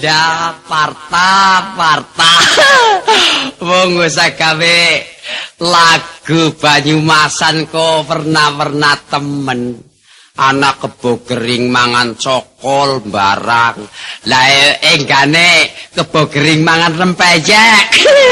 Dah parta. Wong wis gawe lagu Banyumasan kok pernah temen. Anak kebo kering mangan cokol barang. Lah enggane kebo kering mangan rempeyek.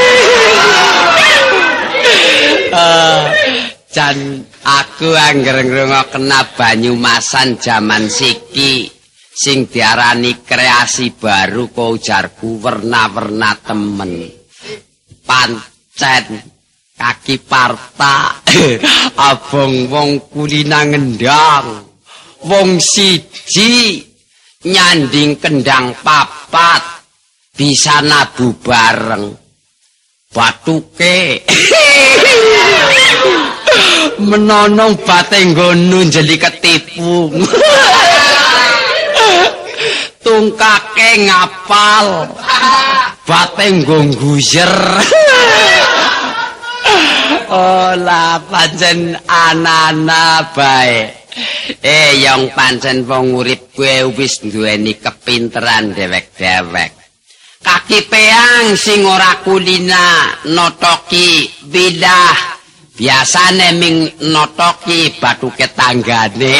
Jan aku angger ngrungokna Banyumasan jaman siki sing diarani kreasi baru kok ujarku warna-warna temen. Pancen kaki parta abong wong kulina ngendang. Wong siji nyanding kendang papat bisa nabu bareng batuke menonong batenggono jeli ketipu tungkake ngapal batenggo guyer. Oh lah pancen anana bae. Yang pancen wong urip kuwe wis duweni kepinteran dewek-dewek. Kaki peang sing ora kulina notoki bidah. Biasane ming notoki batuke tanggane.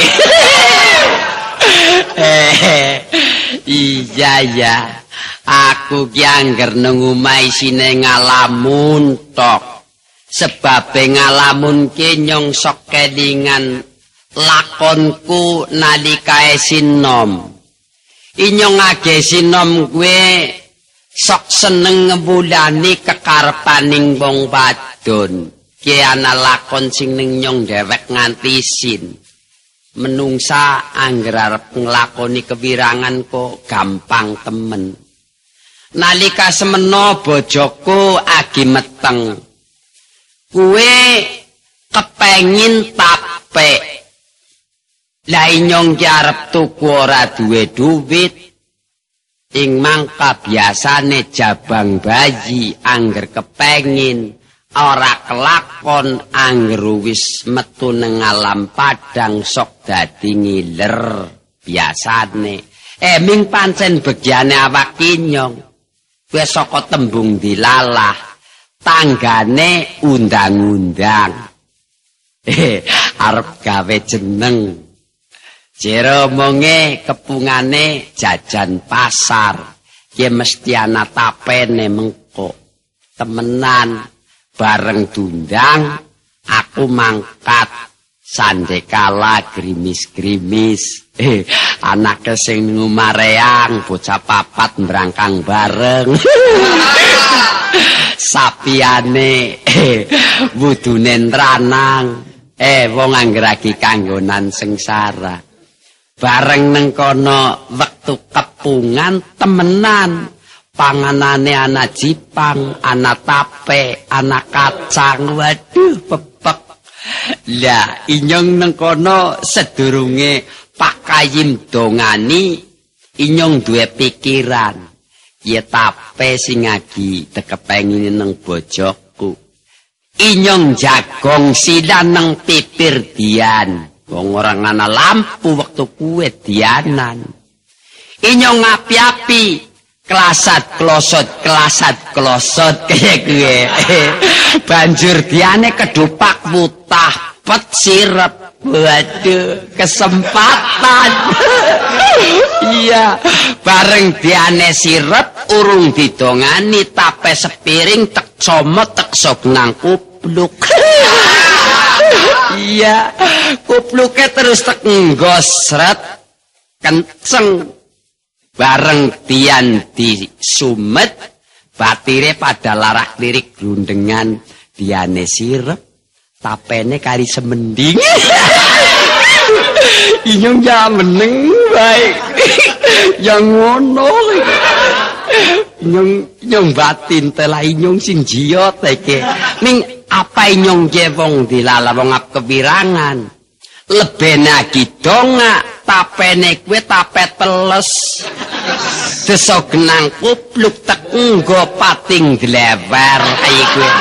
Iya ya. Aku ki angger nang omah isine ngalamun tok. Sebab ngalamun ki nyong sok kelingan lakonku nalika sinom. Inyong age sinom gue sok seneng ngebulani kekarepaning wong wadon. Ki ana lakon sing ning nyong dewek nganti isin. Menungsa angger arep nglakoni kewirangan kok gampang temen. Nalika semeno bojoku agi meteng. Kue kepengin tape. Lah inyong ki arep tuku ora duwe duwit. Ing mangka biasane jabang bayi angger kepengin ora kelakon angger wis metu nang alam padang sok dadi ngiler biasane. Ming pancen bagiane awak inyong. Wis saka tembung dilalah tanggane undang-undang. Arep gawe jeneng. Jero monge kepungane jajan pasar. Ki mesti ana tapene mengko. Temenan bareng dundang aku mangkat sandekala grimis-grimis. Anake sing ngumareang bocah papat mbrangkang bareng. Sapiane wudune nranang. Wong anggeragi kanggonan sengsara. Bareng neng kono wektu kepungan temenan. Panganane ana jipang, ana tape, ana kacang. Waduh pepek. Lah inyong neng kono sedurunge Pak Kayim dongani inyong duwe pikiran. Ya tape sing agi tekepengin neng bojoku. Inyong jagong sidan neng pipir dian. Wong orang ana lampu waktu kue dianan. Inyong api-api kelasat klosot kaya gue. Banjur diane kedupak mutah pet sirep. Waduh kesempatan. Iya bareng diane sirep urung didongani tape sepiring tek comot tek sok nang kupluk. Iya, kupluke terus tek nggosret kenceng bareng dian di sumet batire pada larak lirik grundengan diane sirep tapene kari semending. Inyong ya meneng baik yang ngono. Inyong batin telah inyong sing jiot iki ning apa inyong wong dilala wong ap kewirangan. Lebih lagi donga tapene kuwe tape teles. Desa genang kupluk tek nggo pating dlewer ayi kuwe.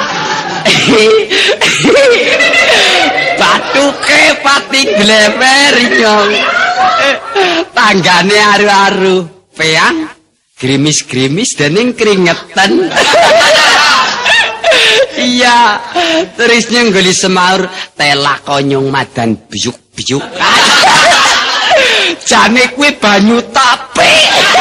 Batuke pating dlewer inyong. Tanggane aru-aru peang Grimis-grimis dening keringetan. Iya, terusnya nggoli semaur tela konyong madan biuk-biuk. Jane kuwi banyu tape.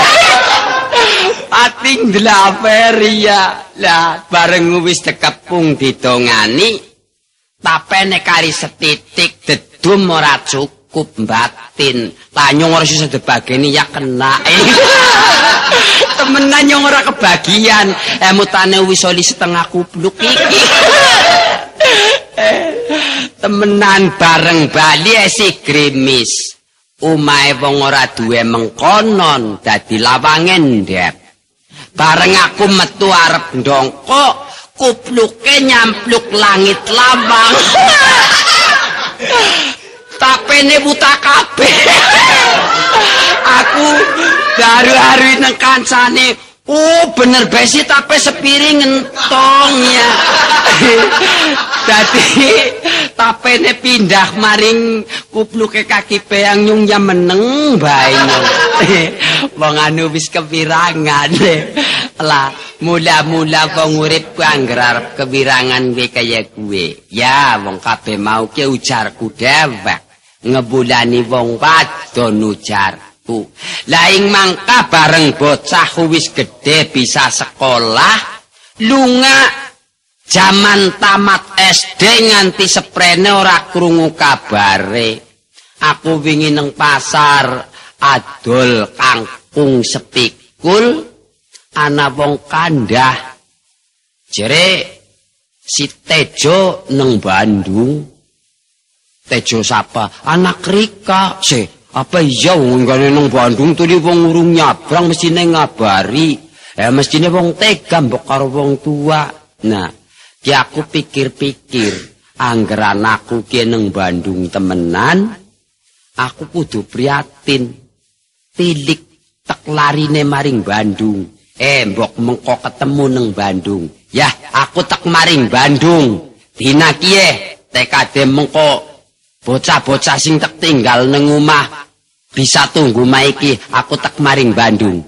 Ating delaper iya. Lah bareng wis dekepung didongani tapene kari setitik dedum ora cukup batin. Lah nyong ora iso dibageni ya kena. Temenan nyong ora kebagian. Mutane wis oli setengah kupluk iki. Temenan bareng bali si grimis. Umahe wong ora duwe mengkonon dadi lawange ndep. Bareng aku metu arep ndongkok, kupluke nyampluk langit lawang. Tapene buta kabeh. Aku baru-baru nang kancane, bener besi tape sepiring entong ya. Dadi tapene pindah maring kupluke kaki peang nyung ya meneng bae. Wong anu wis kepirangan. Lah mula-mula wong urip ku angger arep kepirangan kowe kaya kuwe. Ya wong kabeh mau ki ujarku dhewek. Ngebulani wong wadon ujarku. Lah ing mangka bareng bocah wis gedhe bisa sekolah, lunga jaman tamat SD nganti seprene ora krungu kabare. Aku wingi nang pasar adol kangkung sepikul ana wong kandah. Jere si Tejo nang Bandung. Tejo sapa? Anak Rika. Apa iya wong ngene nang Bandung tuh wong urung nyabrang mestine ngabari. Mestine wong tega mbok karo wong tua. Nah, ki aku pikir-pikir, angger anakku ki nang Bandung temenan, aku kudu prihatin. Tilik tek larine maring Bandung. Mbok mengko ketemu nang Bandung. Yah, aku tek maring Bandung. Dina kiye tekade mengko bocah-bocah sing tek tinggal nang omah bisa tunggu maiki aku tek maring Bandung.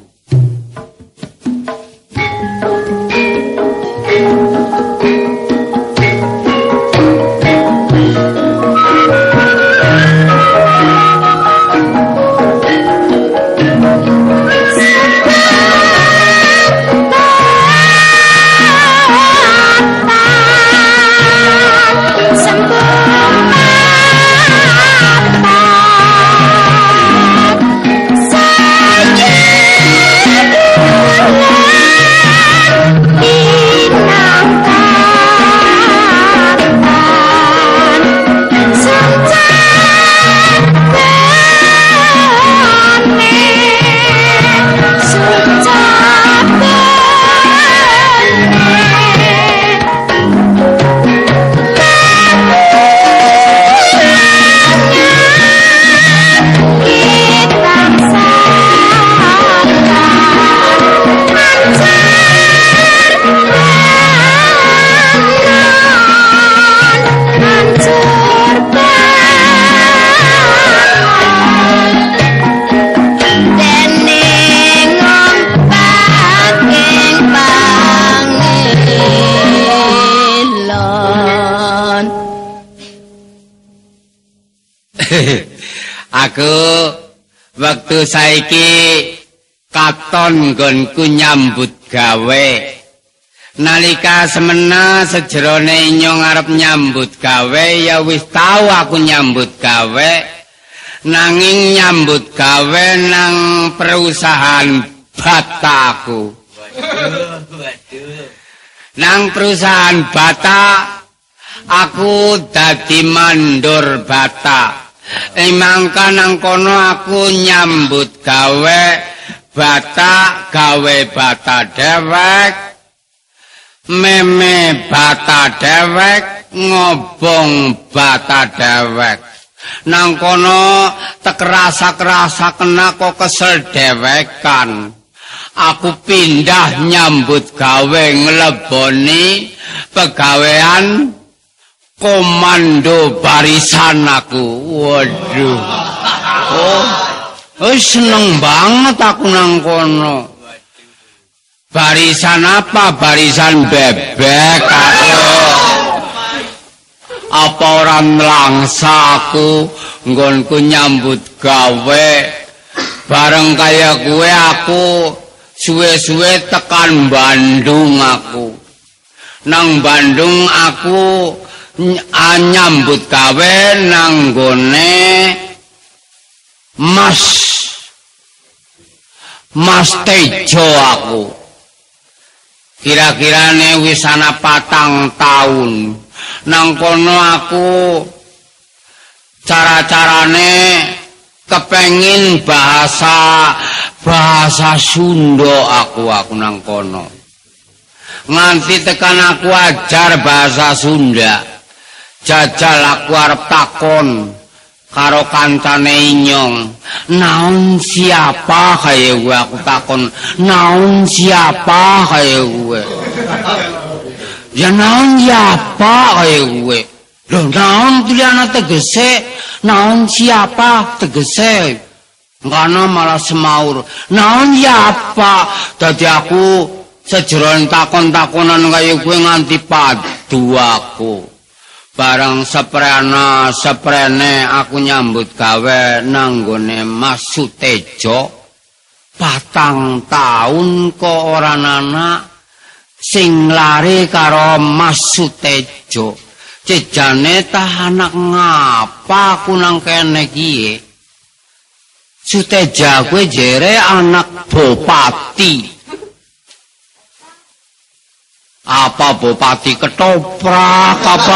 Aku waktu saiki katon nggonku nyambut gawe. Nalika semena sejerone nyong arep nyambut gawe ya wis tau aku nyambut gawe. Nanging nyambut gawe nang perusahaan bataku. Nang perusahaan bata aku dadi mandor bata. Mangka nang kono aku nyambut gawe bata dewek, meme bata dewek, ngobong bata dewek. Nang kono tekerasa kena kok kesel dewekan. Aku pindah nyambut gawe ngeleboni pegawean komando barisan aku. Waduh. Oh, seneng banget aku nang kono. Barisan apa? Barisan bebek aku. Apa orang melangsa aku nggonku nyambut gawe bareng kaya gue aku suwe-suwe tekan Bandung aku. Nang Bandung aku nyambut gawe nang gone Mas Tejo aku. Kira-kirane wis ana 4 tahun. Nang kono aku cara-carane kepengin bahasa Sunda aku nang kono. Nganti tekan aku ajar bahasa Sunda. Jajal aku arep takon karo kancane Inyong. Naon siapa kaya gue aku takon. Naon siapa kaya gue. Ya naon siapa kaya gue. Loh naon tuliana tegese. Naon siapa tegese. Karena malah semaur. Naon siapa. Dadi aku sejeron takon-takonan kaya gue nganti padu aku. Barang seprene aku nyambut gawe nanggone Mas Sutejo 4 tahun kok ora anak sing lari karo Mas Sutejo. Jejane tah anak ngapa aku nang kene iki. Sutejo kuwi jere anak bupati. Apa bupati ketoprak apa?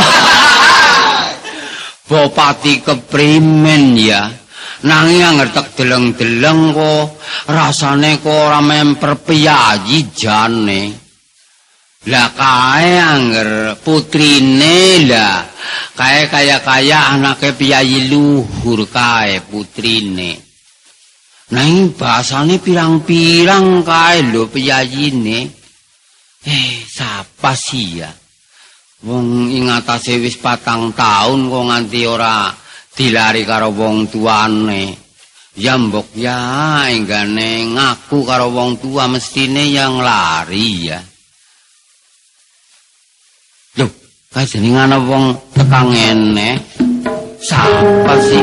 Bupati keprimen ya. Nanging ngertek deleng-deleng kok rasane kok ora memper piyayi jane. Lah kae anger putrine lah. Kae kaya anake piyayi luhur kae putrine. Nanging bahasane pirang-pirang kae lho piyayine. Sapa sih ya? Wong ing atase wis 4 tahun kok nganti ora dilari karo wong tuane. Ya mbok ya enggane ngaku karo wong tua mestine yang lari ya. Loh, kae jenenge ana wong tekang ngene. Sapa sih?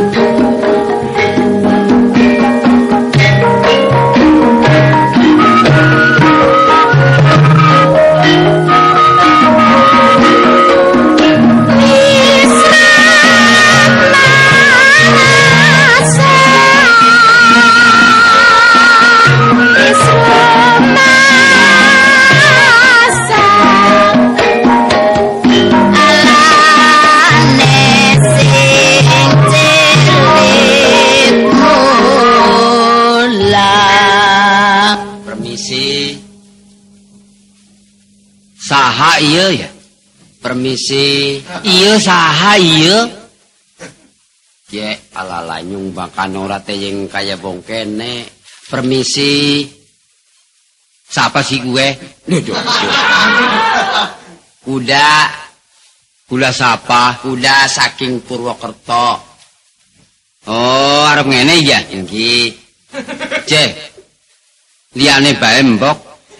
Saha iya ya? Permisi. Iya saha iya? Ya alala nyung bakan ora teyeng kaya wong kene. Permisi. Siapa sih gue? Kuda. Kuda siapa? Kuda saking Purwokerto. Oh, arep ngene ya? Nggih. Cek. Liyane bae mbok.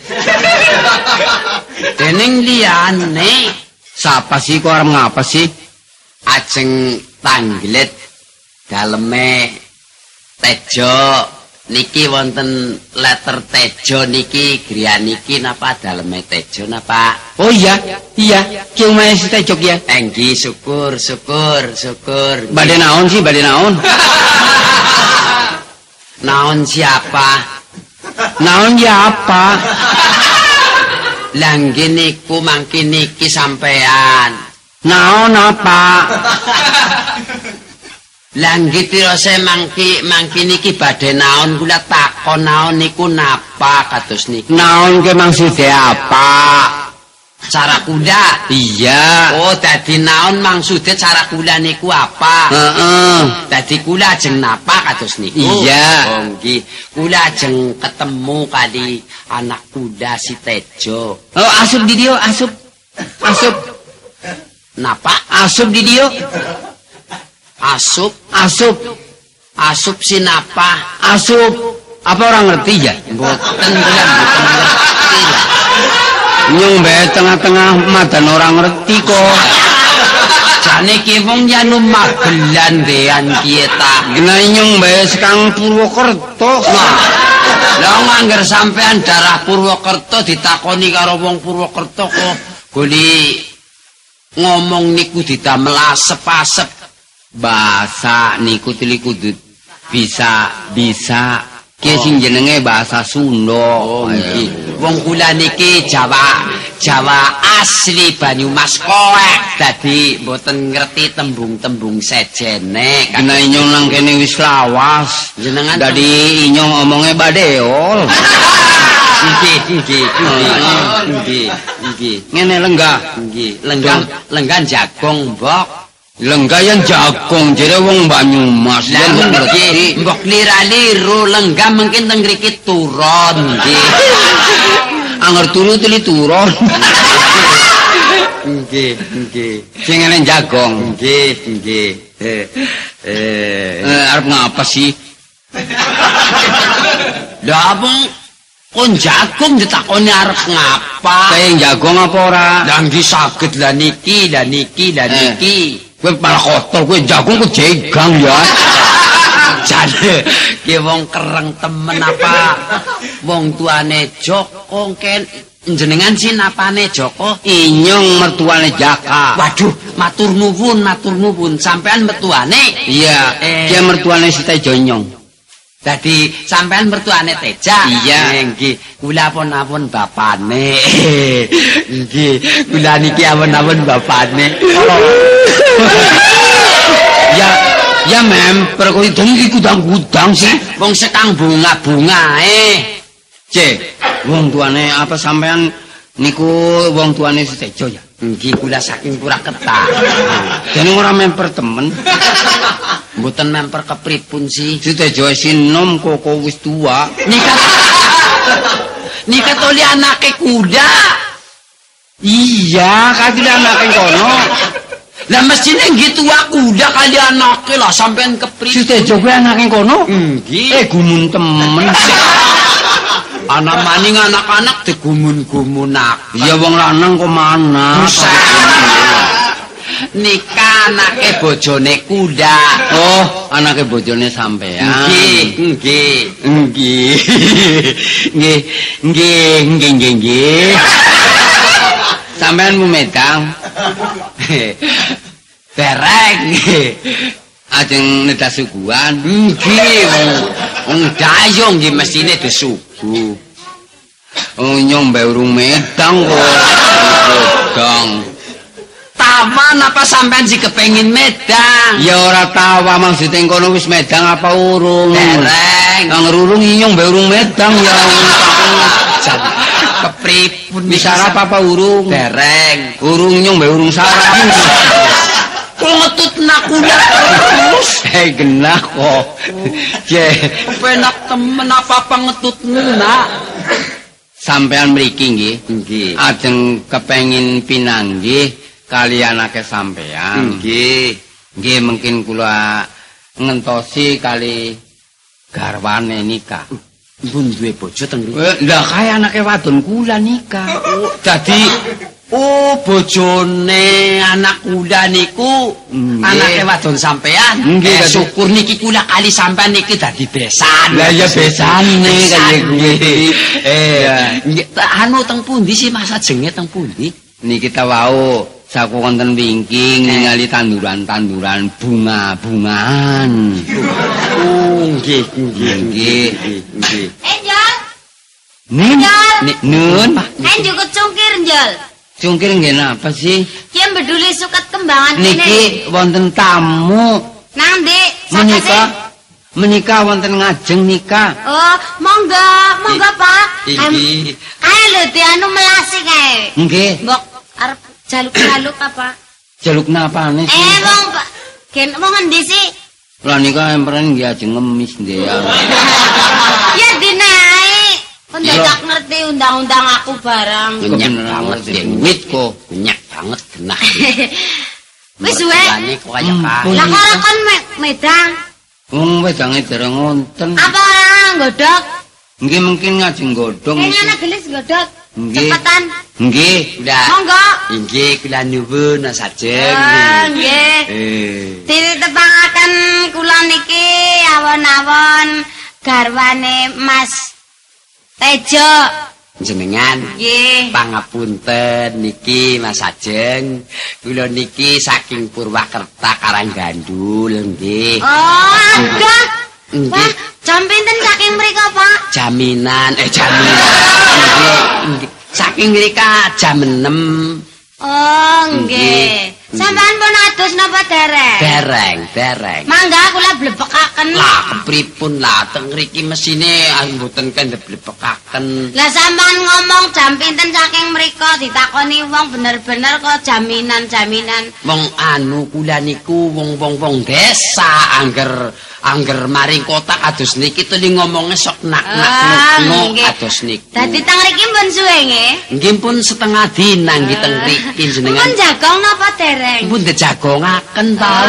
Dening liyane sapa sih kok arep ngapa sih? Ajeng tanglet daleme Tejo niki wonten letter Tejo niki griyan niki napa daleme Tejo napa? Oh iya, ki omahe si Tejo ya. Nggih, syukur. Badhe naon sih, badhe naon? Naon siapa? Naon ya apa? Langge niku mangke niki sampean. Naon apa? Langge tirose mangke niki badhe naon kula takon naon niku napa kados niku. Naon ke maksude apa? Cara kuda? Iya. Oh, dadi naon maksude cara kula niku apa? Heeh. Dadi kula ajeng napa kados niku? Iya. Oh, nggih. Kula ajeng ketemu kali anak kuda si Tejo. Oh, asup di dia, asup. Napa? Asup di dia. Asup si napa? Asup. Apa orang ngerti ya? Mboten kula mboten ngerti lah. Nyong bae tengah-tengah madan orang ngerti kok. Jane ki wong yanu magelan dean ki ta. Nah nyong bae sekang Purwokerto. Lah ngangger sampean darah Purwokerto ditakoni karo wong Purwokerto kok goli ngomong niku didamel asep-asep. Bahasa niku tili kudu bisa ki sing jenenge bahasa Sunda. Wong kula niki Jawa asli Banyumas koek dadi mboten ngerti tembung-tembung sejene. Kena inyong nang kene wis lawas. Jenengan dadi inyong omongnya badeol. Nggih. Ngene lenggah. Nggih, lenggah jagong, Mbok. Lenggayan jagung jere wong Banyumas. Lah nggih, mbok lira-liru lenggah mungkin teng mriki turun nggih. Anger turu teli turun. Nggih. Sing ngene jagung. Nggih. Arep ngapa sih? Lah kon jagung ditakoni arep ngapa? Kayak jagung apa ora? Lah nggih saged lah niki. Kowe malah kotor, kowe jagung ku jegang ya. Jane ki wong kereng temen apa? Wong tuane Joko ken jenengan sinapane Joko? Inyong mertuane Jaka. Waduh, matur nuwun. Sampean mertuane? Iya, dia mertuane si Tejo Nyong. Dadi sampean mertuane Teja. Iya. Nggih, kula pun bapane. Nggih, kula niki ampun bapane. Ya memper kowe iki gudang-gudang sih. Wong sekang bunga-bungae. Cek, wong tuane apa sampean niku wong tuane si Tejo ya? Nggih, kula saking Purwokerto. Jane ora memper temen. Mboten memper kepripun sih. Si Tejo sinom kok wis tua. Nikat oleh anake kuda. Iya, kadile anake kono. Lah mestine nggih tua kuda kali anake lah sampean kepripun. Si Tejo kuwi anake kono? Nggih. Gumun temen. Ana maning anak-anak digumun-gumunak. Iya wong lanang kok mana? Nikah anake bojone kuda. Oh, anake bojone sampean. Nggih. Sampean mu medang. Dereng. Ajeng nedas suguhan. Nggih. Wong dayung nggih mestine disugu. Oh nyong mbek urung medang kok. Medang. Taman apa sampean sih kepengin medang? Ya ora tawa maksud kono wis medang apa urung? Dereng. Nang urung inyong mbek urung medang ya. Kepripun wis sarap apa urung? Dereng. Urung inyong mbek urung sarap. Kok ngetutna kuda terus? Genah kok. Je, penak temen apa ngetutna? Sampean mriki nggih. Nggih. Ajeng kepengin pinanggih kalian akeh sampean. Nggih mungkin kula ngentosi kali garwane nikah. Pun duwe bojo teng mriki. Lah kaya anake wadon kula nikah. Dadi bojone anak kula niku anake wadon sampean. Nggih, syukur niki kula kali sampean niki dadi besan. Lah ya besane kaya kuwi. Anu teng pundi sih masa jenge teng pundi? Niki ta wau saku wonten wingking ningali tanduran-tanduran bunga-bungaan. Nggih. Enjol. Nun. Juga cungkir, Njol. Cungkir nggih napa sih? Ki beduli suket kembangan Niki wonten tamu. Nang Dik, Menikah wonten ngajeng nikah. Oh, monggo Pak. Iki. Ayo lho di anu melasi kae. Nggih. Mbok arep jaluk-jaluk apa? Jaluk napane sih? Wong Pak. Gen wong endi sih? Lah nika emperen nggih ajeng ngemis nggih. Ya dinae. Kon dadak ngerti undang-undang aku barang. Nyenyak banget wit kok. Nyenyak banget genah. Wis suwe. Lah kok kon medang. Wong wedange dereng wonten. Apa ora nggodhog? Nggih mungkin ngajeng godhong. Kene ana gelis nggodhog. Cepetan. Nggih. Monggo. Inggih kula nuwun sajeng. Nggih. Ditepangaken kula niki awon-awon garwane Mas Tejo. Jenengan Nggih. pangapunten niki Mas Sajeng. Kula niki saking Purwakerta Karanggandul nggih. Oh, ada. Nggih. Wah, jam pinten saking mriko, Pak? Jaminan nggih. Saking mrika jam 6. Oh, nggih. Sampean pun adus napa dereng? Dereng. Mangga kula blebekaken. Lah kepripun lah teng mriki mesine mboten kendhe blebekaken. Lah sampean ngomong jam pinten saking mriko ditakoni wong bener-bener kok jaminan. Wong anu kula niku wong desa angger maring kota kados niki tuli ngomonge sok nak-nak kados niku. Dadi teng mriki pun suwe nggih. Nggih pun setengah dina nggih teng mriki jenengan. Pun jagong napa dereng? Pun dijagongaken tau.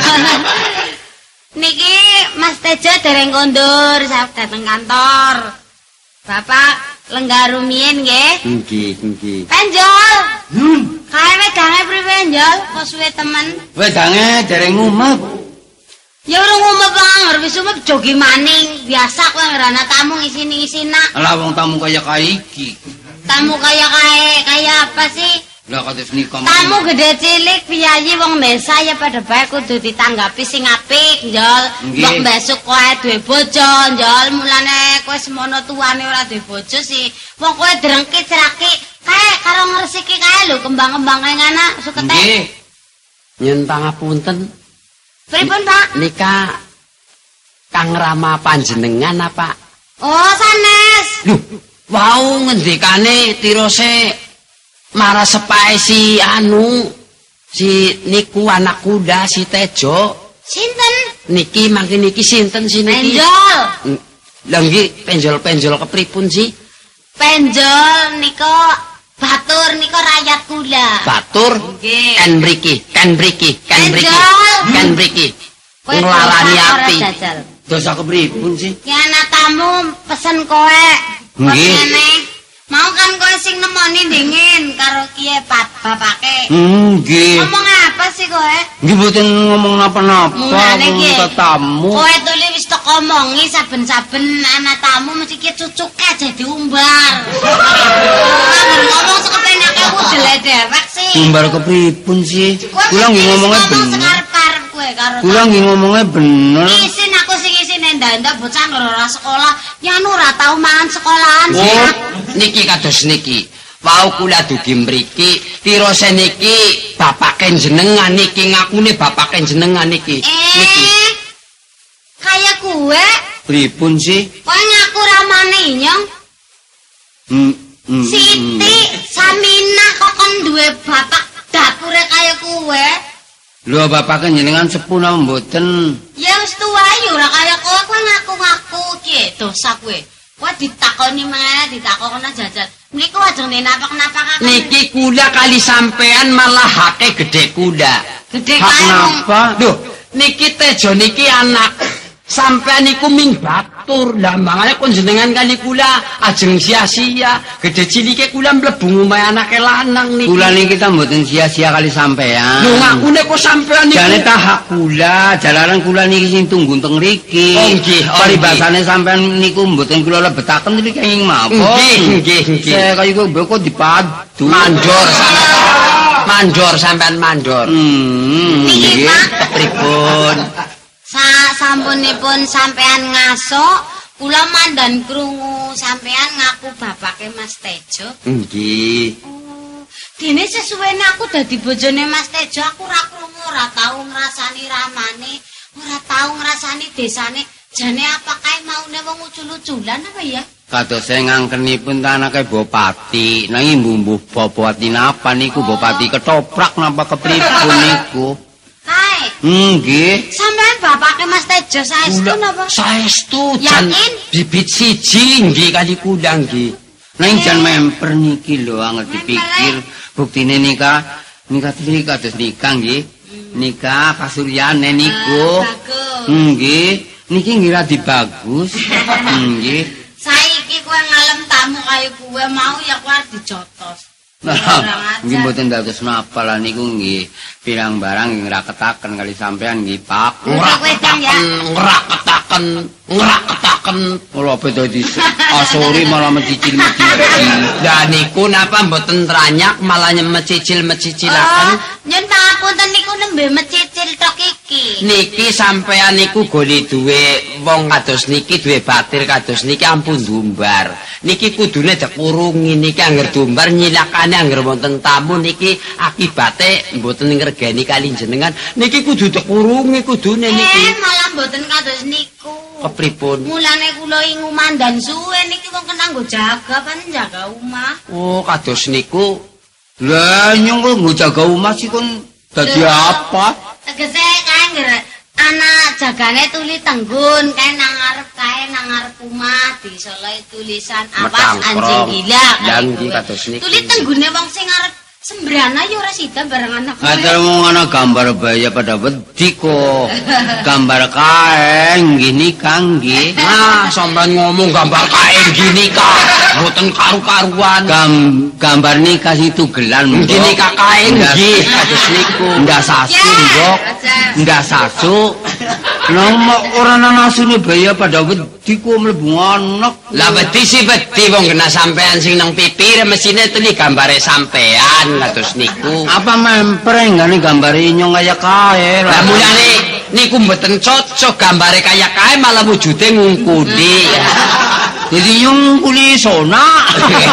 Niki Mas Tejo dereng kondur dateng kantor. Bapak lenggah rumiyin nggih. Nggih. Penjol. Kae wedange priwe njol? Kok suwe temen? Wedange dereng ngumep. Ya urung ngumep anger wis umep jogi maning. Biasa kowe ngrana tamu ngisini-ngisina. Lah wong tamu kaya iki. Tamu kaya apa sih? Lah kados nika. Tamu gede cilik piyayi wong desa ya pada bae kudu ditanggapi sing apik, Njol. Mbok besok kowe duwe bojo, Njol. Mulane kowe semono tuane ora duwe bojo sih. Wong kowe drengki cerakik kae karo ngresiki kae lho kembang-kembange ngana sukete. Nggih. Nyun pangapunten. Pripun, Pak? Nika Kang Rama panjenengan apa? Oh, sanes. Loh, wau ngendikane tirose marah sepae si niku anak kuda si Tejo. Sinten? Niki mangke niki sinten si niki? Penjol. Lah nggih penjol kepripun sih? Penjol niko batur niko rakyat kula. Batur? Nggih. Kan mriki. Kowe Nglarani api. Dosa kepripun sih? Ki anak tamu pesen kowe. Nggih. Mau kan kowe sing nemoni dingin karo kiye bapake. Nggih. Ngomong apa sih kowe? Nggih mboten ngomong napa-napa, Ki tamu. Kowe tuli wis tok omongi saben-saben anak tamu mesti ki cucuke aja diumbar. Ngomong sekepenake udele dewek sih. Umbar kepripun sih? Kula nggih ngomongnya bener. Karo kula nggih ngomongnya bener. Isin aku sing isine ndak bocah ora sekolah, nyanu ora tau mangan sekolahan. Oh, niki kados niki. Wau kula dugi mriki, tirose niki bapake jenengan niki ngakune bapake jenengan niki. Niki. Kaya kuwe. Pripun sih? Kowe ngaku ramane nyong. Siti Saminah kok kon duwe bapak dapure kaya kuwe. Lho bapake jenengan sepuh napa mboten? Ya wis tuwa ya ora kaya kowe ngaku-ngaku ki dosa kowe. Kowe ditakoni meneh ditakoni jajal. Niku ajeng napak-napak niki kula kali sampean malah hake gede kula. Gede kae. Napa? Duh, niki Tejo niki anak sampean niku ming batur. Lah mangane kon jenengan kali kula ajeng sia-sia. Gede cilike kula mlebu omahe anake lanang niki. Kula niki ta mboten sia-sia kali sampean. Lho ngakune kok sampean niku. Jane ta hak kula, jalaran kula niki sing tunggu teng mriki. Oh nggih, paribasane sampean niku mboten kula lebetaken niki kenging mawon. Nggih. Saya kaya kok dipadu. Mandor sampean mandor. Niki Pak Pripun? Sampunipun sampean ngaso, kula mandan krungu sampean ngaku bapake Mas Tejo. Nggih. Dene sesuwene aku dadi bojone Mas Tejo, aku ora krungu, ora tau ngrasani ramane, ora tau ngrasani desane. Jane apa kae maune wong ucul-uculan apa ya? Kados ngangkenipun ta anake Bupati, nanging mbuh Bupati napa niku Bupati ketoprak napa kepripun niku? Kae. Nggih. Sampean bapake Mas Tejo saestu napa? Saestu jan bibit siji nggih kali kula nggih. Nang jan memper niki lho angel dipikir. Buktine nikah kados nikah nggih. Nikah kasuryane niku. Nggih. Niki ngira dibagus. Nggih. Saiki kowe ngalem tamu tamu kaya kuwe mau ya kuwi arep dijotos. Nah, nggih mboten dados napa lah niku nggih pirang barang nggih ngraketaken kali sampean nggih Pak. Ngraketaken kula beda di asori malah mencicil-mencicil. Lah niku napa mboten ranyak malah mecicil-mecicilaken. Nyun pangapunten niku nembe mecicil tok iki. Niki sampean niku goli duwe wong kados niki duwe batir kados niki ampun dumbar. Niki kudune dikurungi niki angger dumbar nyilakane angger wonten tamu niki akibate mboten ngregeni kali jenengan. Niki kudu dikurungi kudune niki. Malah mboten kados niku. Kepripun? Mulane kula ing umandan suwe niki wong kena nggo jaga jaga omah. Oh, kados niku. Lah nyong kok nggo jaga omah sih kon dadi apa? Tegese kae ngger ana jagane tuli tenggun kae nang ngarep omah disoleh tulisan awas anjing gila. Lah nggih kados niku. Tuli tenggune wong sing arep sembrana ya ora sida bareng anak. Ngaten wong ana gambar baya pada wedi kok. Gambar kae nggih nikah nggih. Nah, sampean ngomong gambar kae nggih nikah. Mboten karu-karuan. Gambar nikah itu gelan mbok. Nggih nikah kae nggih kados niku. Ndak sasu mbok. Ndak sasu. Nomok ora ana asune baya pada wedi kok mlebu anak. Lah wedi sih wedi wong kena sampean sing nang pipir mesine teli gambare sampean kados niku. Apa mempreng ngene gambare nyong kaya kae. Lah mulane niku mboten cocok gambare kaya kae malah wujude ngungkuli. Jadi nyong kuli sona.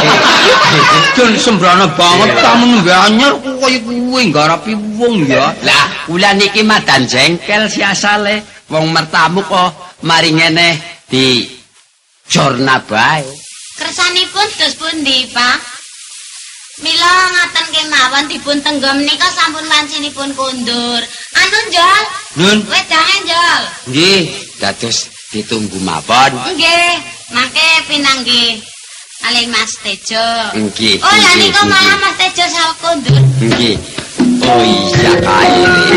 Dan sembrana banget tamu anyar kaya kuwe ngarapi wong ya. Lah kula niki madan jengkel si asale. Wong mertamu kok mari ngene di jorna bae. Kersanipun dos pundi, Pak? Mila ngaten kemawon dipun tenggom nika sampun wancinipun kundur. Anu Njol? Nun. Wedange Njol. Nggih, dados ditunggu mawon. Nggih, mangke pinanggih kalih Mas Tejo. Nggih. Oh, lah nika malah Mas Tejo saweg kundur. Nggih. Oh iya kae.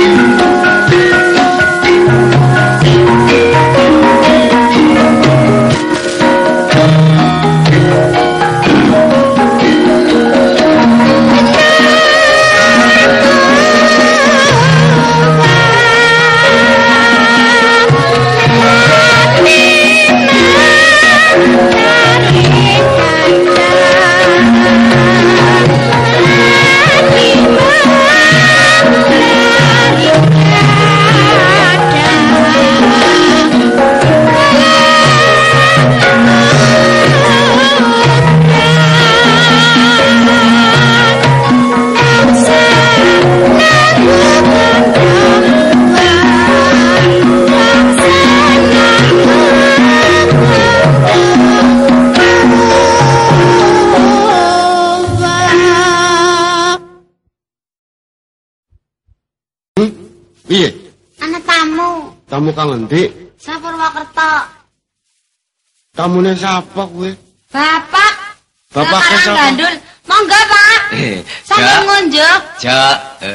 Piye? Ana tamu. Tamu kang endi? Sa Purwokerto. Tamune sapa kowe? Bapak. Bapak Bapak sapa? Gandul. Monggo, Pak. Sampun ngunjuk. Cek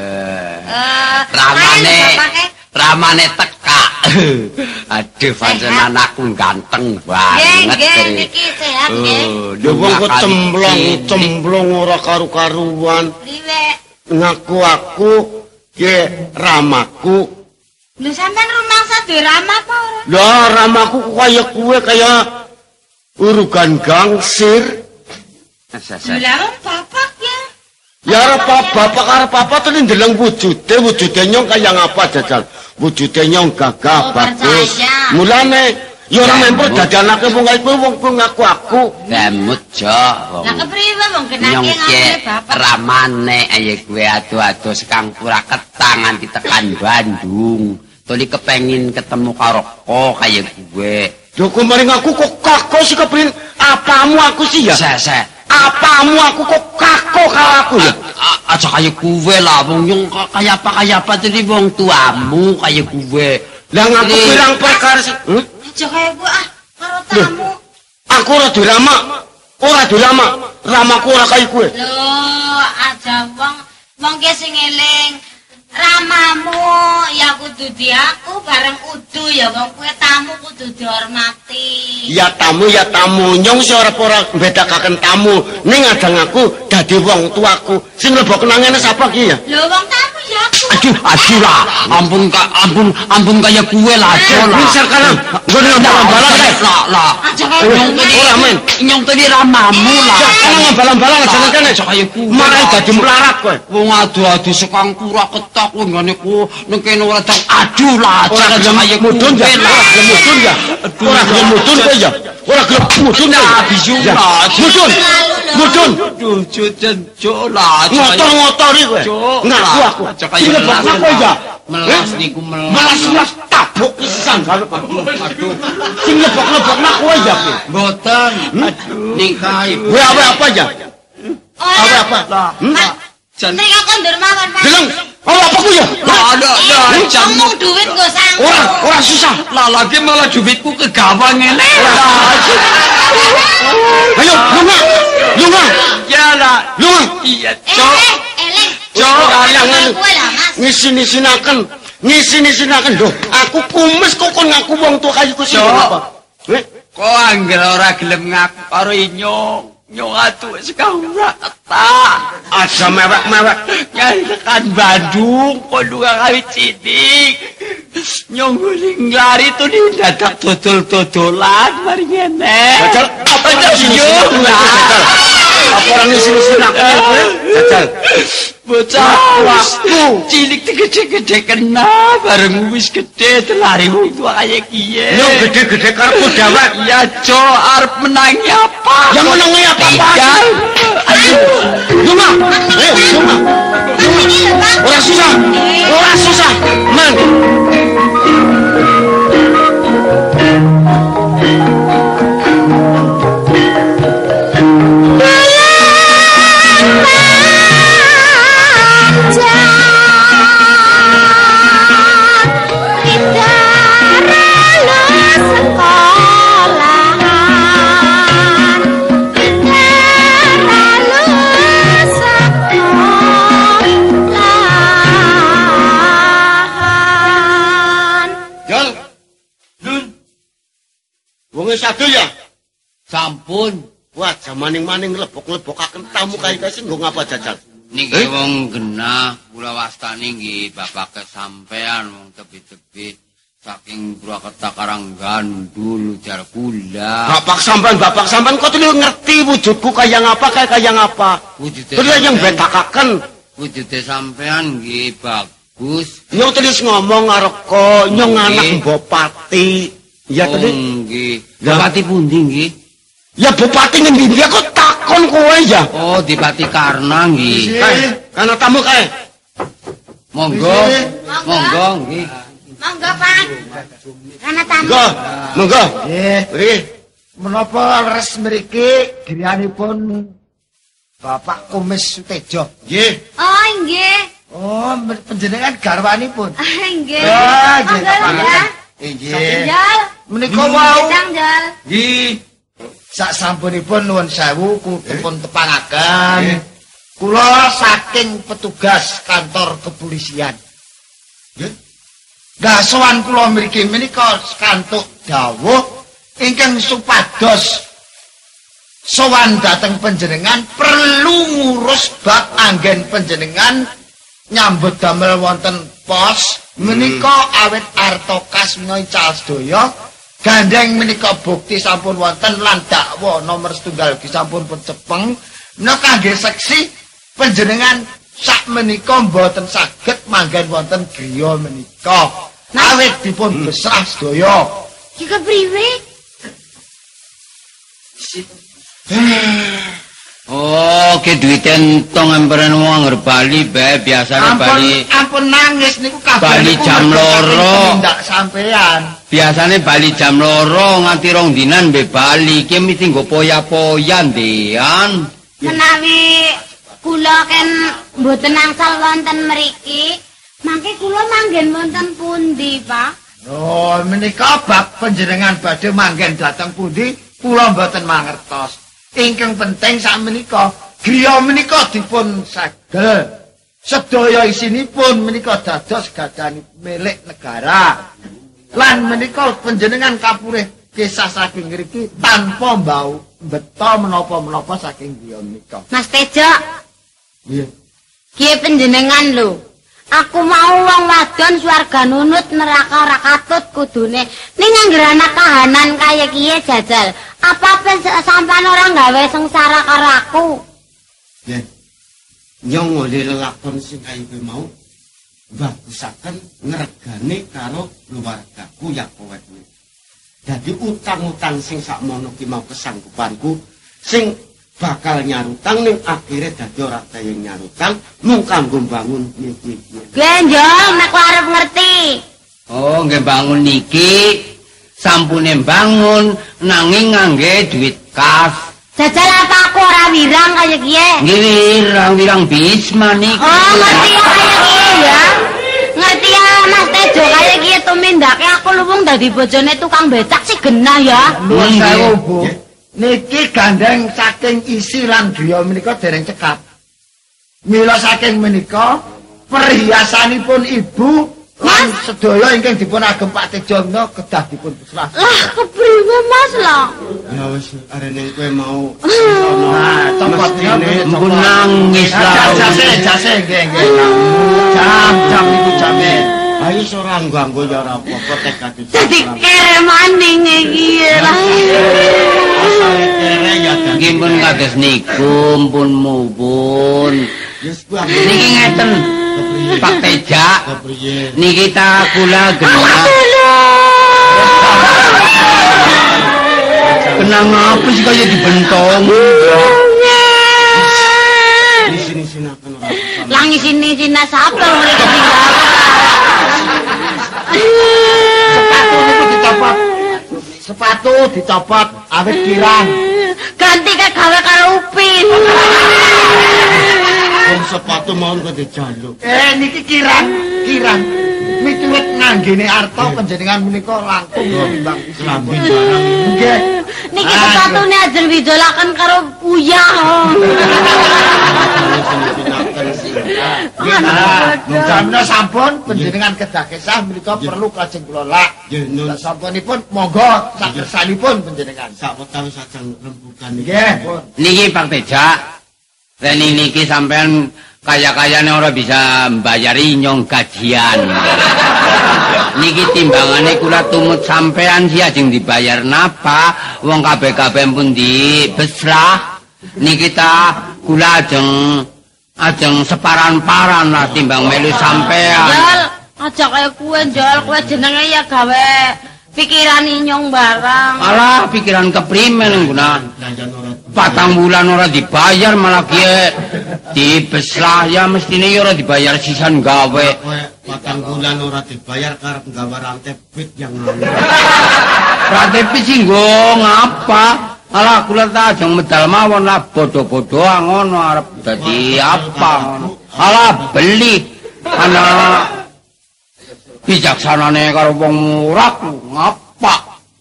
ramane teka. Aduh pancen anakku ganteng banget. Nggih, niki sehat nggih. Ya wong kok cemplong ora karu-karuan. Priwe? Ngaku aku ye ramaku. Lho sampean rumangsa duwe ramah apa ora? Lah ramaku kaya kowe kaya urugan gangsir. Lah bapak ya. Ya arep bapak arep apa to ndeleng wujude nyong kaya ngapa jajal. Wujude nyong gagah bagus. percaya. Mulane ya ora memper dadi anake wong kaya kowe wong ngaku aku. Demut jo. Lah kepriwe wong kenake Nyong ngene bapak? ramane ayo kowe ado-ado sekang pura ketang nganti tekan Bandung. Tuli kepengin ketemu karo kok kaya kowe. Lho kok maring aku kok kako sih kepengin apamu aku sih ya? Sek. Apamu aku kok kako karo aku ya? Aja kaya kowe lah wong nyong kaya apa tadi wong tuamu kaya kowe. Lah ngaku bilang perkara sih. Aja kaya gua karo tamu. Aku ora duwe rama. Ora duwe rama. Ramaku ora kaya kowe. Lho, aja wong ki sing eling Ramamu ya kudu di aku bareng udu ya wong kowe tamu kudu dihormati. Ya tamu nyong sing ora bedakaken tamu ning adang aku dadi wong tuaku sing mlebu kenangane sapa ki ya? Lho wong tamu ya aku. Aduh lah, ampun kaya kue lah, aja lah. Bisa kan? Nggon balang-balang kae. Lah. Ora men. Nyong tadi ramamu lah. Jangan balang-balang aja kene. Kaya kue. Marai dadi melarat kowe. Wong adu-adu sekang kura ketok ngene ku ning kene ora tau aduh lah. Ora gelem mudun ya. Ora gelem mudun ya. Ora gelem mudun kowe ya. Ora gelem mudun ya. Bisu Ya. lah. Mudun. Aduh, jojo lah. Ngotor-ngotori kowe. Ngaku aku. Sing lebokna kowe ya. Melas niku melas. Melas tabuk pisan karo aku. Aduh. Sing lebok-lebokna kowe ya kowe. Mboten. Aduh. Ningkai. Kowe apa ya? Apa? Jan. Nek aku ndur mawon, Pak. Deleng. Apa ku ya? Ada Ngomong duit nggo sanggup. Ora susah. lah lagi malah duitku kegawang ngene. Ayo, lunga. Ya lah. Lunga. Iya, Cok. Eleng. Cok, alang Kowe lah, Mas. Ngisi-nisinaken lho. Aku kumis kok kon ngaku wong tua kayu ku sing Cok. apa? Kok angger ora gelem ngaku karo inyong. Nyong atuh wis ora ketak. Aja mewek-mewek. Nyari tekan Bandung, kok lunga kali cidik. Nyong guling lari tuh di dadak dodol-dodolan mari ngene. Jajal, apa Jajal, ngisi-nisinaken yo. aku, Jajal? Apa orang ngisi-nisinaken kowe? Jajal. Bocah waktu cilik gede-gede kena bareng wis gede telari wong tua kaya kiye. Yo gede-gede karepku dewek. Ya Jo arep menangi apa? Yang menangi apa-apa? Tinggal. Aduh. Lunga. Ayo, lunga. Ora susah. Man. Jol. Dun. Wong sadu ya? Sampun. Wah, jamaning-maning lebok-lebokaken tamu kae sing nggo ngapa Jajal? Niki wong genah kula wastani nggih bapak kesampean wong tebi-tebi saking Purwakarta Karangandul jar kula. Bapak sampean kok tuh ngerti wujudku kaya ngapa? Wujude Terus yang betakaken. wujude sampean nggih bagus. Nyong terus ngomong karo kok nyong anak bupati. Ya tadi. Nggih. Ya. Bupati pundi nggih? Ya bupati ngendi dia kok takon kowe ya. Oh, di Pati Karna nggih. Kana tamu kae. Monggo. Monggo nggih. Monggo, Pak. Karena tamu. Monggo. Nggih, Nggih. menapa leres mriki griyanipun Bapak Kumis Sutejo. Nggih. Oh, nggih. Oh, panjenengan garwanipun. Nggih. Ah, nggih, Monggo, Pak. nggih. Nggih. Jal. Menika wau Jal. nggih sasampunipun nuwun sewu kutipun tepangaken. Kula saking petugas kantor kepolisian. Nggih. Lah sowan kula mriki menika kantuk dawuh ingkang supados sowan dhateng panjenengan perlu ngurus bab anggen panjenengan nyambut damel wonten pos menika awit arta kas menawi calsedaya gandeng menika bukti sampun wonten lan dakwa nomor 1 sampun cepeng menika kangge seksi panjenengan sak menika mboten saged manggen wonten griya menika awit dipun besrah sedaya. Ki kepriwe? Oh, ke duit entong emperan wong ngger Bali bae biasane Bali. Ampun nangis niku kabeh. Bali jam loro. Ndak sampean. Biasane Bali jam 2 nganti 2 dinan mbek Bali. Ki mesti nggo poya-poya ndean. Menawi kula ken mboten angsal wonten mriki, mangke kula manggen wonten pundi, Pak? Oh, menika bab panjenengan badhe manggen dhateng pundi kula mboten mangertos. Ingkang penting sak menika griya menika dipun segel sedaya isinipun menika dados gadani milik negara. Lan menika panjenengan kapurih kisah saking ngriki tanpa mbau beto menapa-menapa saking griya menika. Mas Tejo. Nggih. Kiye panjenengan lho. Aku mau wong wadon swarga nunut neraka ora katut kudune. Ning anggere ana kahanan kaya kiye jajal. Apa sampean ora gawe sengsara karo aku? Nggih. Nyong oleh lelakon sing kaya kowe mau bagusaken ngregane karo keluargaku ya kowe. Dadi utang-utang sing sakmono ki mau kesanggupanku sing bakal nyarutang ning akhire dadi ora kaya nyarutang mung kanggo bangun iki. Genjong nek arep ngerti. Oh, nggih bangun niki sampune bangun nanging ngangge duit kas. Jajal apa aku ora wirang kaya kiye? Nggih, wirang bisma niki. Oh, ngerti ya kaya kiye ya. Ngerti ya Mas Tejo kaya kiye tumindake aku luwung dadi bojone tukang becak sih genah ya. Nuwun sewu, Bu. Niki gandeng saking isi lan griya menika dereng cekap. Mila saking menika perhiasanipun Ibu lan sedaya ingkang dipun agem Pak Tejo menika kedah dipun serah. Lah kepriwe Mas lah? Ya wis arene kowe mau Nah, copotnya Mpun nangis lah. jase nggih. Jam niku jame. ayo ora ganggu ya ora apa-apa tekad. Dadi kere maning iki lah. Asale kere ya Nggih pun kados niku, mpun muwun. Yes ku Niki ngeten. Pak Teja. kepriye? Niki ta kula genah. Kenang apa sih kaya dibentong? Di sini akan ora usah. Langi sini sapa mulai ketinggalan. Sepatu dicopot awet kirang. Ganti gawe karo Upin. Wong sepatu mau kok dijaluk. Niki kirang. Miturut nganggene arta panjenengan menika langkung timbang Kelambi barang. nggih. Niki sepatune ajeng didolaken karo uyah. Jamna sampun panjenengan kedah kesah menika perlu kajeng kula lak. Nggih nun Sampunipun monggo sakersanipun panjenengan. sak wektu sajeng rembugan iki. Nggih, pun. Niki Pak Teja. Reni niki sampean kaya-kayane ora bisa mbayari nyong gajian. Niki timbangane kula tumut sampean sih ajeng dibayar napa wong kabeh-kabeh pun dibesrah. Niki ta kula ajeng separan-paran lah timbang melu sampean. Jol, aja kaya kowe jenenge ya gawe pikiran inyong barang. Alah pikiran keprimen guna. Danjan ora 4 bulan ora dibayar malah kiye dibeslah ya mestine ya ora dibayar sisan gawe. kowe 4 bulan ora dibayar karep nggawe rantai pit yang Pratepi sih ngapa? Alah kula ta ajeng medal mawon lah bodoh-bodoh ngono arep dadi apa ngono. Alah beli ana bijaksanane karo wong murah ngapa?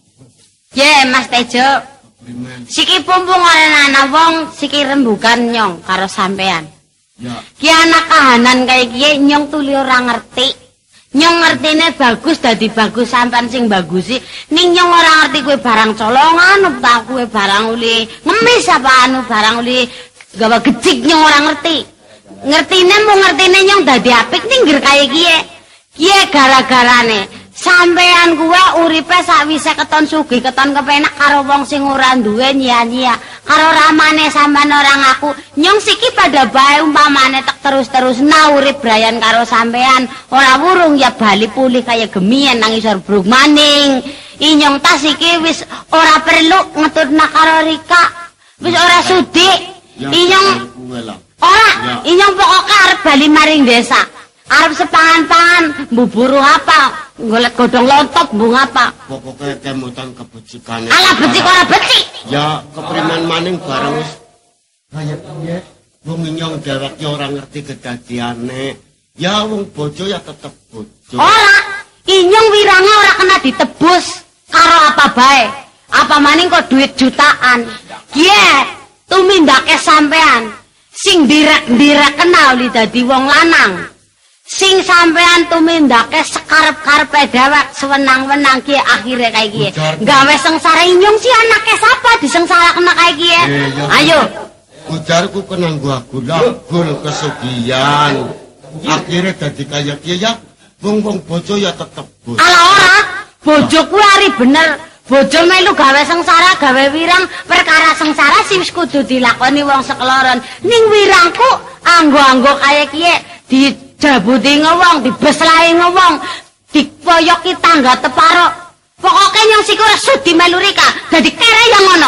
Ye Mas Tejo, siki pumpung ana wong siki rembugan nyong karo sampean. ya Ki anak kahanan kaya kiye nyong tuli ora ngerti. Nyong ngertine bagus dadi bagus sampean sing bagusi. Ning nyong ora ngerti kowe barang colongan apa kowe barang uli ngemis apa anu barang uli gawa gecik nyong ora ngerti. Ngertine mung ngertine nyong dadi apik ninggir kaya kiye. Kiye gara-garane sampean kuwi uripe sakwise keton sugih keton kepenak karo wong sing ora duwe nyia-nyia. Karo ramane sampean ora ngaku, nyong siki pada bae umpamane tek terus-terus urip brayan karo sampean, ora wurung ya bali pulih kaya gemien nang isor bruk maning. Inyong tas iki wis ora perlu ngetutna karo Rika. Wis ora sudi. Inyong kowe lah. ora, inyong pokoke arep bali maring desa. Arep sepangan-pangan mbuburu apa? Golek godhong lontop mbung apa? Pokoke kemutan kebecikane. Ala becik ora becik. Ya kepriman maning barang wis kaya piye? Wong nyong dhewek ya ora ngerti kedadiane. Ya wong bojo ya tetep bojo. Ora, inyong wirange ora kena ditebus karo apa bae. Apa maning kok duit jutaan. Kiye, tumindake sampean. sing ndirek-ndirek kenal li dadi wong lanang. Sing sampean tumindake sekarep-karepe dhewek sewenang-wenang ki akhire kae ki. Gawe sengsara inyong si anake sapa disengsarakna kae ki. Ayo. Ujarku kena aku labul kesugihan. Akhire dadi kaya kiye ya. Wong-wong bojo ya tetep bojo. Ala ora, bojo kuwi ari bener. Bojo melu gawe sengsara, gawe wirang, perkara sengsara sing wis kudu dilakoni wong sekloron. Ning wirangku anggo-anggo kaya kiye dijabuti ngewong, dibeslahi ngewong, dipoyoki tangga teparo. Pokoke nyong siku ora sudi melu rika, dadi kere yang ngono.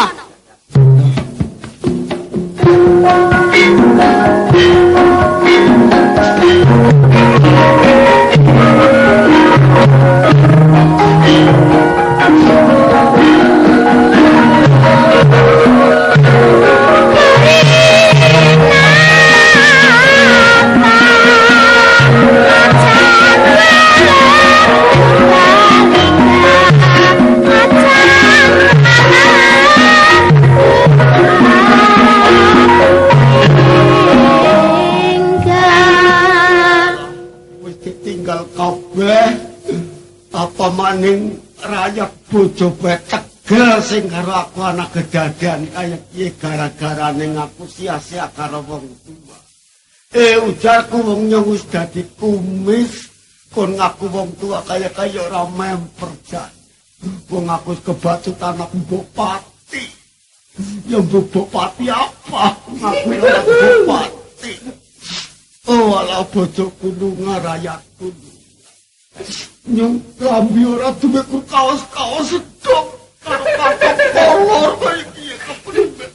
Apa maning rakyat bojo tegel sing karo aku anak kedadian kaya piye gara-gara ning aku sia-sia karo wong tua. Ujarku wong nyong wis dadi kumis kon ngaku wong tua kaya ora memper jan. Wong aku kebacut anak bupati. Ya bupati apa? Ngaku ora bupati. Oh ala bojoku lunga rakyatku. Nyong lambi ora duwe kaos-kaos sedok karo katok kolor kaya kiye kepriben.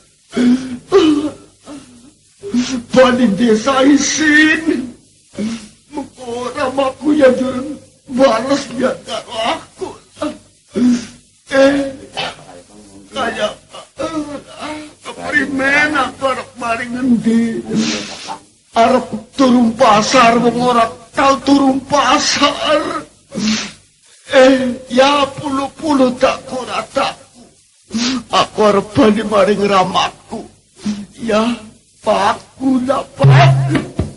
Bani desa isin. Muko ora maku ya durung balas ya karo aku. Kaya keprimen aku arep maring endi. Arep turun pasar wong ora tau turun pasar. Ya puluh-puluh tak kurataku. Aku harus balik maring ramaku. Ya, paku lah pak.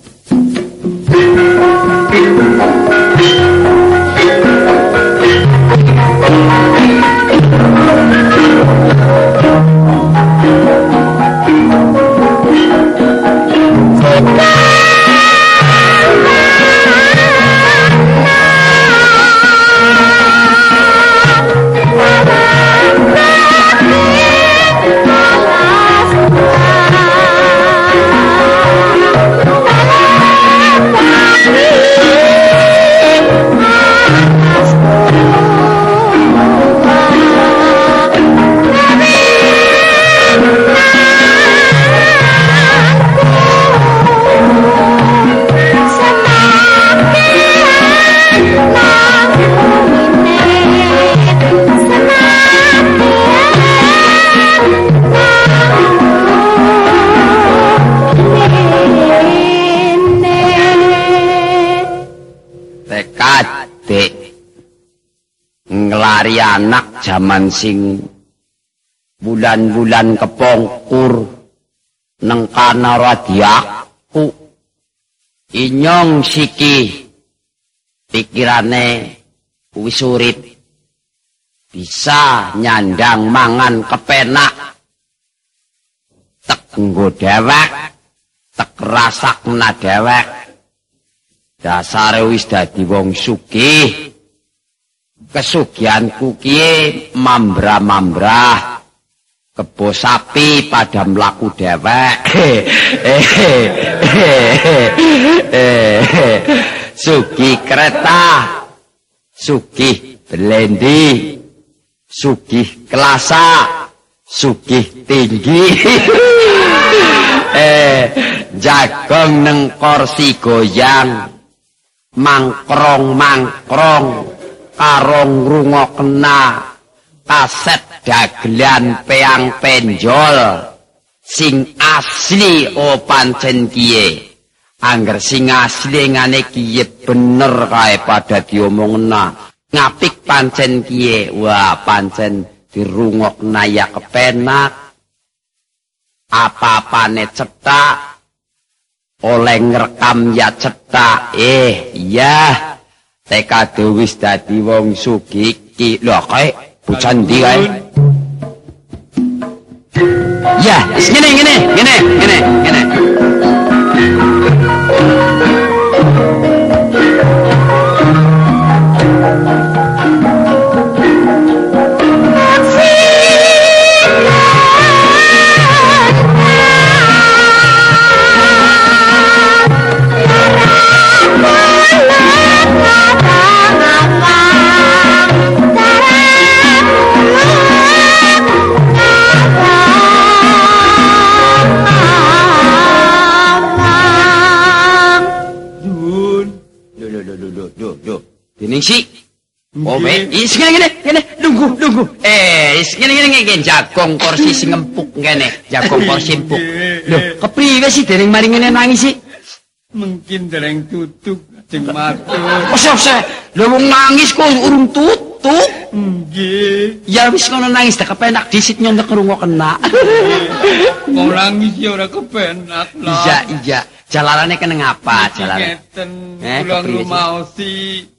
Ngelari anak zaman sing bulan-bulan kepongkur neng kana radiaku inyong siki pikirane wis urip bisa nyandang mangan kepenak tek nggo dhewek tek rasakna dhewek dasare wis dadi wong sugih. Kesugihanku kiye mambrah-mambrah kebo sapi pada mlaku dhewek. Sugih kereta, sugih belendi, sugih kelasa, sugih tinggi. Jagong neng kursi goyang, mangkrong-mangkrong karong rungokna kaset dagelan peang penjol sing asli o pancen kiye angger sing asli ngane kiye bener kae pada diomongna ngapik pancen kiye wah pancen dirungokna ya kepenak apa-apane cetak oleh ngerekam ya cetak. Iya. Tekade wis dadi wong sugih iki. Lho kae bocah ndi kae? Ya, wis ngene. Ningsi. Is ngene. Nunggu. Is ngene jagong kursi sing empuk ngene. Jagong kursi empuk. Lho, kepriwe sih dereng mari ngene nangis sih? Mungkin dereng tutuk jeng matur. Ose. Lho wong nangis kok urung tutuk. Nggih. Ya wis ngono nangis tak kepenak disit nyontek ngrungokna. Wong nangis ya ora kepenak lah. Iya. Jalarane kene ngapa jalarane? Ngeten kula ngrumaosi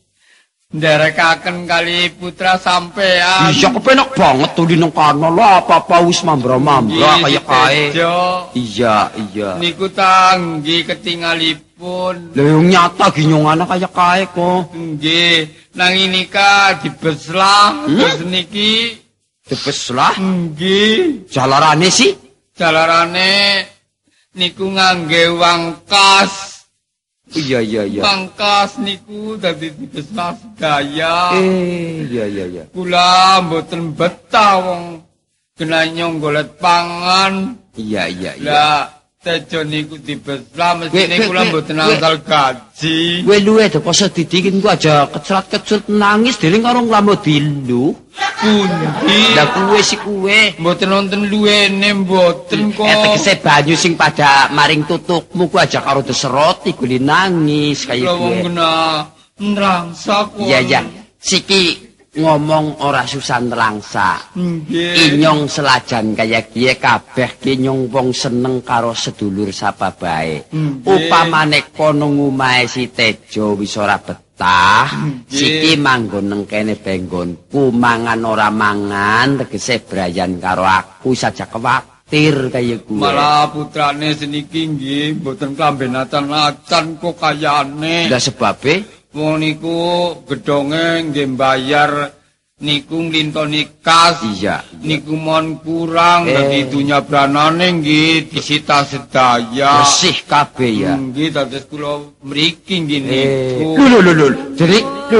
nderekaken kali putra sampean. Iya kepenak banget tuli nang kana lho apa-apa wis mambra-mambra kaya kae. Iya. Niku tanggi ketingalipun. Lha nyata ginyongane kaya kae kok. Nggih, nang nika dibeslah terus niki dibeslah. Nggih. Jalarane sih? Jalarane niku ngangge uang kas. Iya. Pangkas niku dadi dibeslah sedaya. Iya. Kula mboten betah wong kena nyonggolet pangan. Iya. Lah tejo niku dibeslah mestine kula mboten angsal gaji. Kowe luwe to poso didikin ku aja kecrat-kecut nangis dening karo nglamu dilu. Pundi? Lah kuwe si kuwe mboten wonten luwene mboten kok. Tegese banyu sing pada maring tutukmu ku aja karo deserot iku nangis kaya kuwe. Wong kena nrangsa kok. Iya. Siki ngomong ora susah nrangsa. Nggih. Inyong selajan kaya kiye kabeh ki nyong wong seneng karo sedulur sapa bae. Upamane kono ngumahe si Tejo wis ora betah. Siki manggon nang kene benggonku mangan ora mangan tegese brayan karo aku saja kuwatir kaya kuwe. Malah putrane seniki nggih mboten klambenacan-acan kok kayane. Lah sebabe wong niku gedhonge nggih mbayar niku nglintoni kas. Iya. Niku mon kurang dadi dunya branane nggih disita sedaya. Bersih kabeh ya. Nggih dados kula mriki nggih niku. Lho. Jadi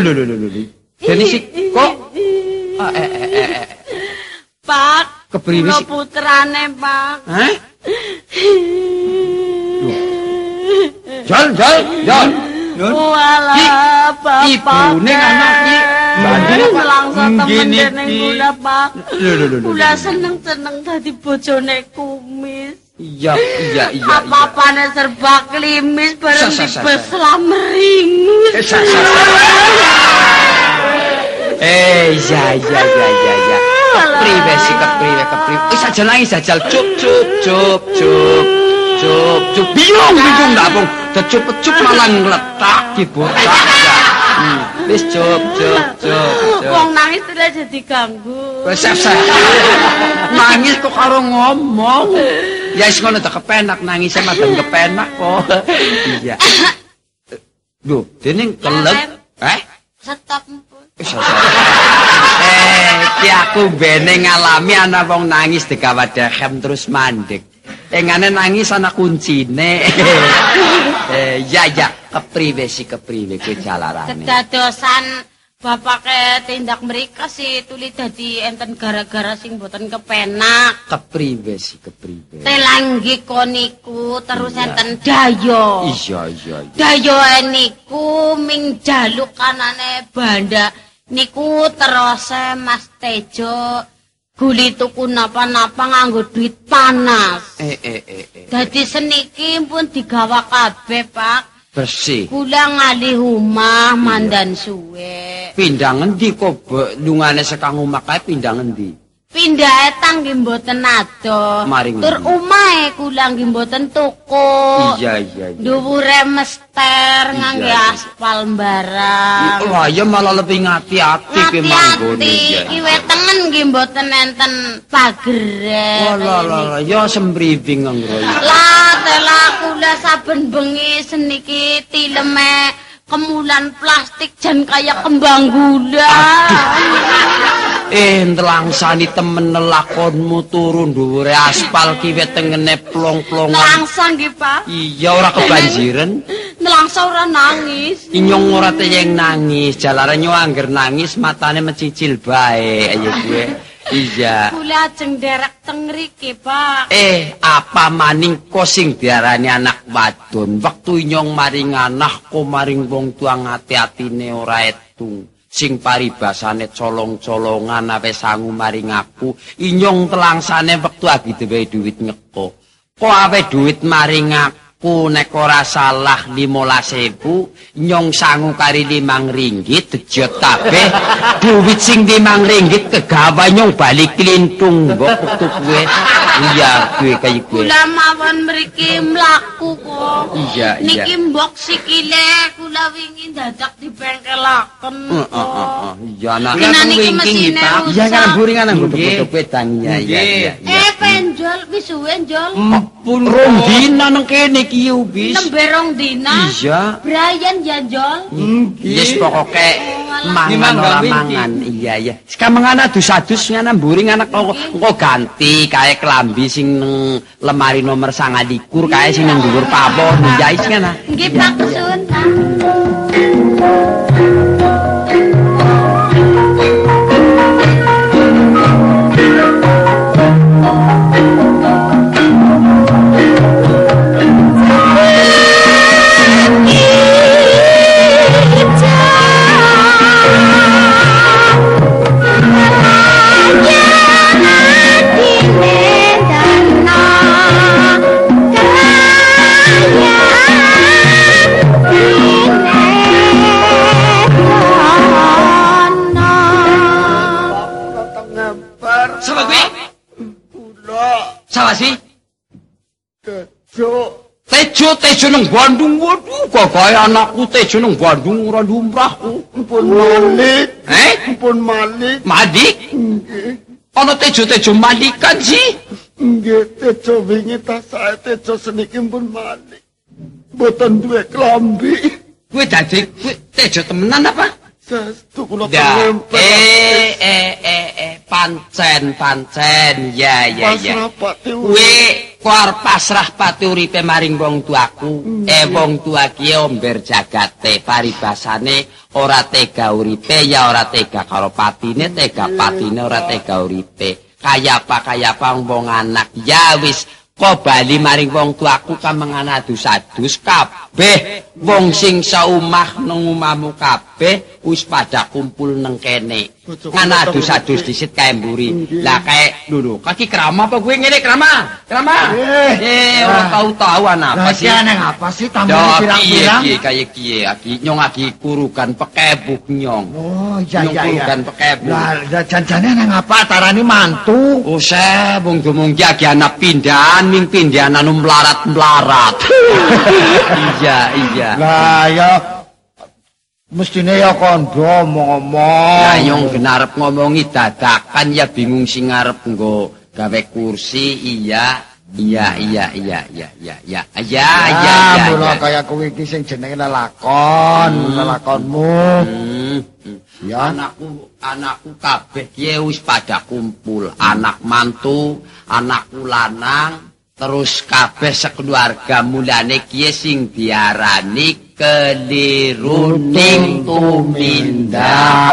Jadi sik kok Pak, kepriwe kula sik? putrane, Pak. Hah? Jol. Walah, Bapak. Ibune anak iki. Langsung temen Nggih, dene niki. kula, Pak. Lho. Kula seneng-seneng dadi bojone kumis. Iya. Apa-apane serba klimis bareng dibeslah meringis. Iya. Kepriwe. Aja nangis jajal cup. Bingung ndak pung. Decup-cup malah ngletak dibotak. Wis cup. Wong nangis terus jadi ganggu. Wis nangis kok karo ngomong. Ya wis ngono tak kepenak nangis madan kepenak kok. Iya. Lho, dening kelep. Stop pun. Ki aku bene ngalami ana wong nangis digawadhem terus mandek. Engane nangis ana kuncine. Ya, kepriwe kuwi jalarane. Kedadosan bapake tindak mrika si tuli dadi enten gara-gara sing boten kepenak. Kepriwe. Telanggi koniku terus enten dayo. Iya. Dayo niku ming jaluk kanane banda niku terus Mas Tejo guli tuku napa-napa nganggo duit panas. Dadi seniki pun digawa kabeh, Pak. Bersih. Kula ngalih omah mandan suwe. Pindah ngendi kok lungane sekang omah kae pindah ngendi? Pindah etang nggih mboten adoh. Tur omahe kula nggih mboten tuku. Iya. Dhuwure mester ngangge aspal barang. Wah, ya malah lebih ngati-ati ki manggone. Iki wetengen nggih mboten enten pagere. Lah, ya sembriwing ngroyo. Lah, tela kula saben bengi seniki tileme kemulan plastik jan kaya kembang gula. Ntelangsani temen lakonmu turun dhuwure aspal ki wetengene plong-plongan. Nelangsa nggih, Pak. Iya, ora kebanjiren. Nelangsa ora nangis. Inyong ora teyeng nangis, jalare nyo angger nangis matane mecicil bae ayo gue. Iya. Kula ajeng derek teng mriki, Pak. Apa maning ko sing diarani anak wadon. Wektu inyong maring anak ko maring wong tua ngati-atine ora etung. Sing paribasane colong-colongan ape sangu maring aku. Inyong telangsane wektu agi dhewe duit ngeko. Kok ape duit maring aku nek ora salah 15.000, nyong sangu kari 5 ringgit dejot kabeh. Duit sing 5 ringgit kegawa nyong balik klintung mbok wektu kuwe. Iya, gue kaya gue. Kula mawon mriki mlaku kok. Iya. Niki mbok sikile kula wingi dadak dibengkelaken. Iya, anak wingi Pak. Iya kan buringan nang godhog wedang. Iya. Penjol wis suwe njol. Pun rong dina nang kene iki wis. Nembe rong dina. Iya. Brian ya njol. Yes pokoke mangan ora mangan. Iya. Sekamang adus-adus ngana mburing anak engko ganti kae kelambi sing nang lemari nomor 29 kae sing nang dhuwur pawon ya is ngana. Nggih Pak Sun. Tejo nang Bandung. Waduh, kok kaya anakku Tejo nang Bandung ora lumrah. Pun Malik. Pun Malik. Madik? Nggih. Ana Tejo Malikan sih. Nggih, Tejo wingi ta sae Tejo seniki pun Malik. Mboten duwe klambi. Kuwi dadi Tejo temenan apa? Saestu kula kempet. Pancen. Ya. Pasrah pati kuwi arep pasrah pati uripe maring wong tuaku. Wong tua ki omber jagate, paribasane ora tega uripe ya ora tega karo patine, tega patine ora tega uripe. Kaya apa wong anak ya wis kok bali maring wong tuaku kamangan adus-adus kabeh wong sing saumah nang omahmu kabeh wis pada kumpul nang kene. Ngana adus-adus disit kae mburi. Lah kae lho kaki krama apa kowe ngene krama? Ora tau ana apa sih? Lah apa sih tambah pirang-pirang? Iya kaya kiye aki nyong aki kurukan pekebuk nyong. Oh iya. Kurukan pekebuk. Lah janjane nang apa tarani mantu? Oh se wong domong ki agi ana pindahan ning pindahan anu melarat-melarat. Iya. Lah ya mestine ya kondo ngomong. Lah nyong genarep ngomongi dadakan ya bingung sing ngarep nggo gawe kursi. Iya. Mula kaya kowe iki sing jenenge lelakonmu. Ya anakku kabeh ki wis pada kumpul. Anak mantu, anakku lanang, terus kabeh sekeluarga mulane ki sing diarani keliruning tumindak.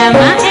Rama.